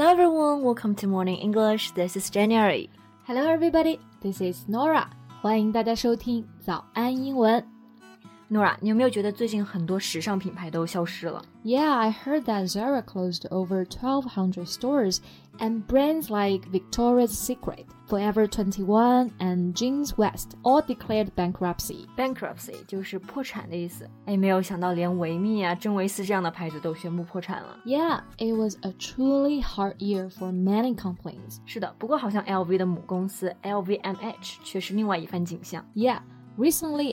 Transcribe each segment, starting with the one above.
everyone, welcome to Morning English. This is January. Hello everybody, this is Nora. 欢迎大家收听早安英文。 Nora, 你有没有觉得最近很多时尚品牌都消失了？ Yeah, I heard that Zara closed over 1,200 stores and brands like Victoria's Secret, Forever 21 and Jeans West all declared bankruptcy. Bankruptcy 就是破产的意思。没有想到连维密啊、真维斯这样的牌子都宣布破产了。 Yeah, it was a truly hard year for many companies. 是的，不过好像 LV 的母公司 LVMH 却是另外一番景象。 Yeah.Recently,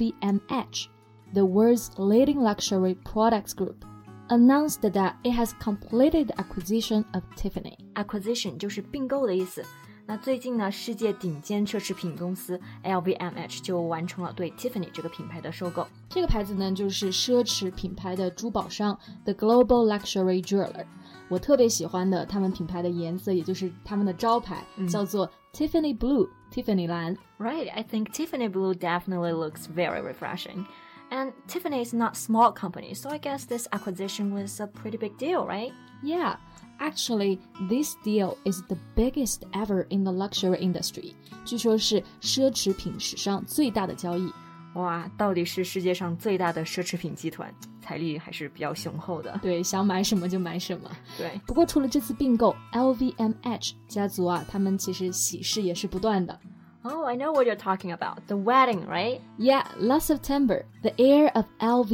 LVMH, the world's leading luxury products group, announced that it has completed the acquisition of Tiffany. Acquisition 就是并购的意思。那最近呢，世界顶尖奢侈品公司 LVMH 就完成了对 Tiffany 这个品牌的收购。 这个牌子呢，就是奢侈品牌的珠宝商 The Global Luxury Jeweler。我特别喜欢的他们品牌的颜色，也就是他们的招牌，叫做 Tiffany Blue, Tiffany 蓝。 Right, I think Tiffany Blue definitely looks very refreshing. And Tiffany is not a small company, so I guess this acquisition was a pretty big deal, right? Yeah, actually, this deal is the biggest ever in the luxury industry. 据说是奢侈品史上最大的交易。 哇，到底是世界上最大的奢侈品集团，财力还是比较雄厚的。 对，想买什么就买什么。 对， 不过除了这次并购 ，LVMH 家族啊，他们其实喜事也是不断的。 Oh, I know what you're talking about. The wedding, right? Yeah, last September, the heir of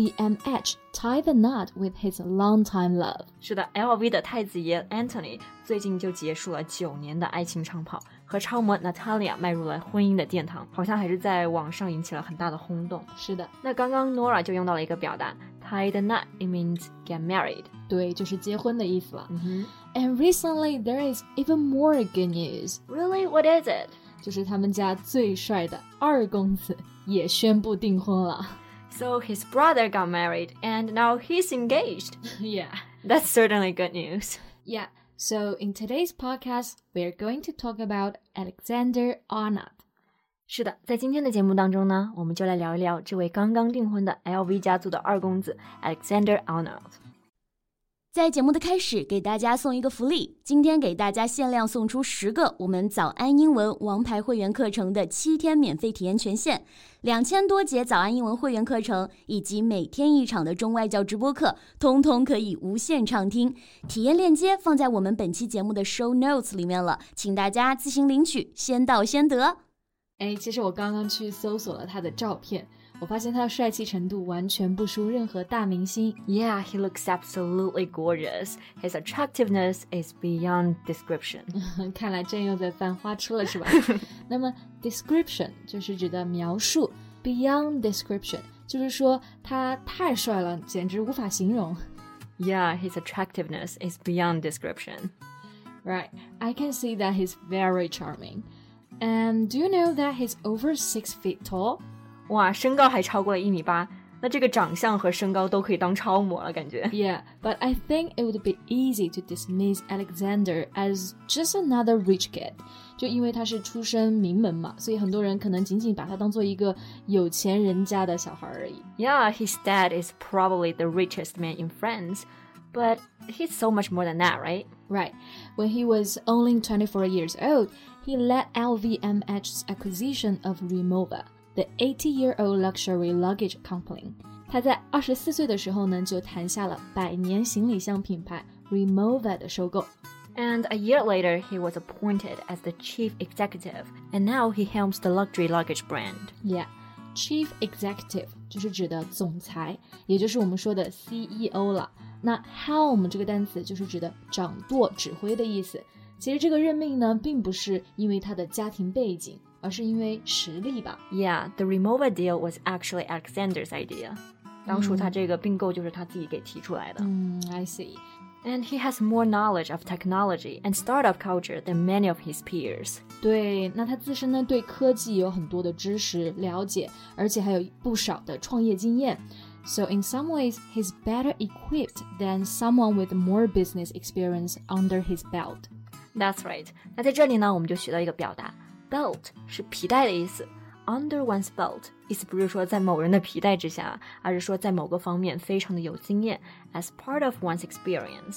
LVMH tied the knot with his longtime love. 是的 ，LV 的太子爷 Anthony 最近就结束了9年的爱情长跑，和超模 Natalia 迈入了婚姻的殿堂，好像还是在网上引起了很大的轰动。 是的， 那刚刚 Nora 就用到了一个表达 tie the knot, it means get married. 对，就是结婚的意思了。 And recently, there is even more good news. Really? What is it? 就是他们家最帅的二公子也宣布订婚了。 So his brother got married and now he's engaged. Yeah. That's certainly good news. Yeah. So in today's podcast, we're going to talk about Alexander Arnold. 是的，在今天的节目当中呢，我们就来聊一聊这位刚刚订婚的 LV 家族的二公子 Alexander Arnold。 在节目的开始，给大家送一个福利，今天给大家限量送出10个我们早安英文王牌会员课程的7天免费体验权限，2000多节早安英文会员课程以及每天1场的中外教直播课，通通可以无限畅听。体验链接放在我们本期节目的 show notes 里面了，请大家自行领取，先到先得。 其实我刚刚去搜索了他的照片，我发现他的帅气程度完全不输任何大明星。 Yeah, he looks absolutely gorgeous. His attractiveness is beyond description. 看来朕又在犯花痴了，是吧？那么 description 就是指的描述 ，beyond description 就是说他太帅了，简直无法形容。 Yeah, his attractiveness is beyond description. Right, I can see that he's very charming. And do you know that he's over 6 feet tall? 哇，身高还超过了1.8米，那这个长相和身高都可以当超模了，感觉。 Yeah, but I think it would be easy to dismiss Alexander as just another rich kid. 就因为他是出身名门嘛，所以很多人可能仅仅把他当做一个有钱人家的小孩而已。 Yeah, his dad is probably the richest man in France, but he's so much more than that, right? Right. When he was only 24 years old, he led LVMH's acquisition of Rimowa.The 80-year-old luxury luggage company. 他在24岁的时候呢，就谈下了100年行李箱品牌 Rimowa 的收购。 And a year later, he was appointed as the chief executive, and now he helms the luxury luggage brand. Yeah, chief executive 就是指的总裁，也就是我们说的 CEO 了。那 helm 这个单词就是指的掌舵、指挥的意思。其实这个任命呢，并不是因为他的家庭背景，而是因为实力吧。 Yeah, the Rimowa deal was actually Alexander's idea. 当初他这个并购就是他自己给提出来的。 I see. And he has more knowledge of technology and startup culture than many of his peers. 对，那他自身呢对科技有很多的知识了解，而且还有不少的创业经验。So in some ways, he's better equipped than someone with more business experience under his belt. That's right. 那在这里呢，我们就学到一个表达 ，belt 是皮带的意思。Under one's belt 意思不是说在某人的皮带之下，而是说在某个方面非常的有经验 as part of one's experience.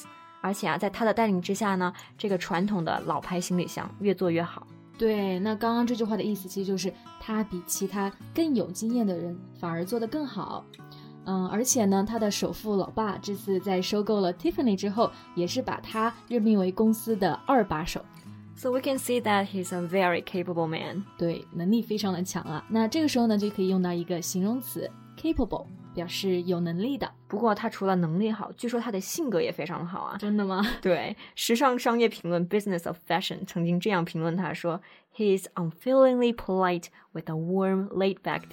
而且在他的带领之下呢，这个传统的老牌行李箱越做越好。 对，那刚刚这句话的意思其实就是他比其他更有经验的人反而做得更好。而且呢，他的首富老爸这次在收购了 Tiffany 之后，也是把他任命为公司的2把手。 So we can see that he's a very capable man. 对，能力非常的强啊。那这个时候呢，就可以用到一个形容词 capable， 表示有能力的。 不过他除了能力好，据说他的性格也非常好啊。 真的吗？ 对，时尚商业评论 Business of Fashion 曾经这样评论他说 He is unfailingly polite with a warm, laid-back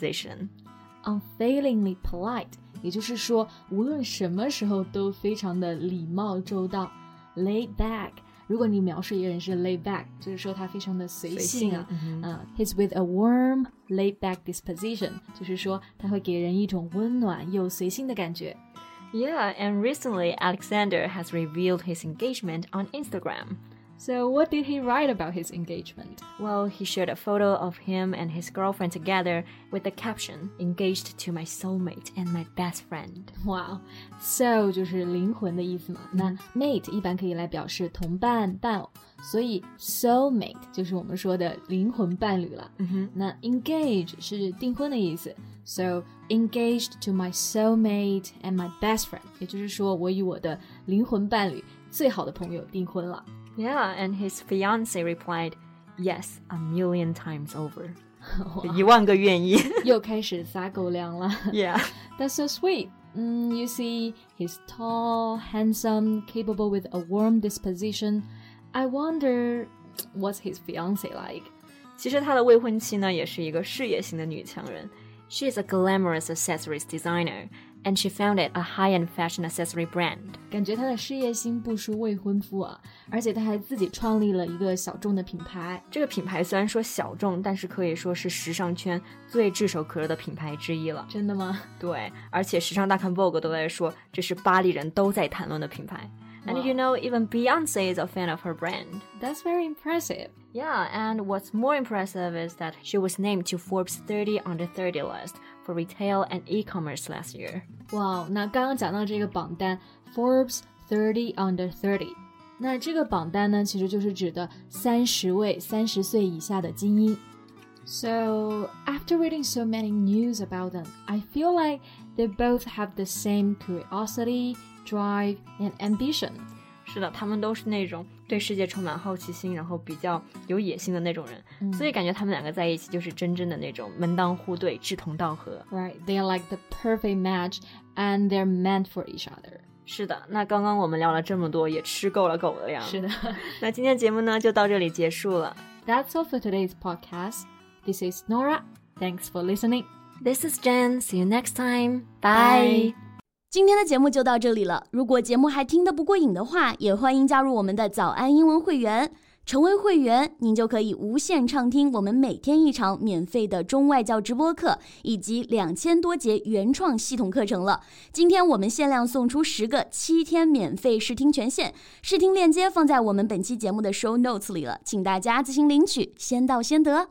disposition.Unfailingly polite， 也就是说无论什么时候都非常的礼貌周到。Laid back， 如果你描述一个人是 laid back， 就是说他非常的随性啊。He's with a warm, laid back disposition， 就是说他会给人一种温暖又随性的感觉。 Yeah, and recently Alexander has revealed his engagement on Instagram.So what did he write about his engagement? Well, he shared a photo of him and his girlfriend together with the caption, Engaged to my soulmate and my best friend. Wow, soul 就是灵魂的意思嘛。那 mate 一般可以来表示同伴、伴偶，所以 soulmate 就是我们说的灵魂伴侣了。那 engage 是订婚的意思。So, engaged to my soulmate and my best friend， 也就是说我与我的灵魂伴侣、最好的朋友订婚了。 Yeah, and his fiancée replied, Yes, 1,000,000 times over. 10000个愿意。 又开始撒狗粮了。 Yeah. That's so sweet. You see, he's tall, handsome, capable with a warm disposition. I wonder, what's his fiancée like? 其实他的未婚妻呢，也是一个事业型的女强人。She is a glamorous accessories designer.And she founded a high-end fashion accessory brand. 感觉她的事业心不输未婚夫啊，而且她还自己创立了一个小众的品牌。 这个品牌虽然说小众，但是可以说是时尚圈最炙手可热的品牌之一了。 真的吗？ 对，而且时尚大刊 Vogue 都在说，这是巴黎人都在谈论的品牌。And you know, even Beyoncé is a fan of her brand. That's very impressive. Yeah, and what's more impressive is that she was named to Forbes 30 under 30 list for retail and e-commerce last year. Wow, 那刚刚讲到这个榜单 Forbes 30 under 30， 那这个榜单呢，其实就是指的30位30岁以下的精英。So, after reading so many news about them, I feel like they both have the same curiosity, drive, and ambition. 是的，他们都是那种对世界充满好奇心，然后比较有野心的那种人，所以感觉他们两个在一起就是真正的那种门当户对、志同道合。 Right, they are like the perfect match, and they're meant for each other. 是的，那刚刚我们聊了这么多，也吃够了狗的粮。 是的， 那今天节目呢就到这里结束了。 That's all for today's podcast. This is Nora. Thanks for listening. This is Jen. See you next time. Bye. 今天的节目就到这里了。如果节目还听得不过瘾的话，也欢迎加入我们的早安英文会员。成为会员，您就可以无限畅听我们每天一场免费的中外教直播课，以及2000多节原创系统课程了。今天我们限量送出10个7天免费试听权限，试听链接放在我们本期节目的 show notes 里了，请大家自行领取，先到先得。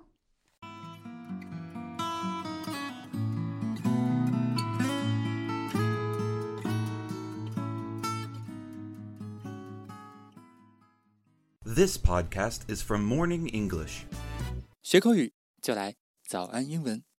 This podcast is from Morning English. 学口语就来早安英文。